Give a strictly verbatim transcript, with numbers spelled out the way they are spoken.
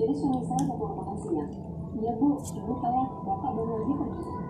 Jadi suami saya mau makan siang. Iya bu, ibu kayak bapak baru lagi pergi.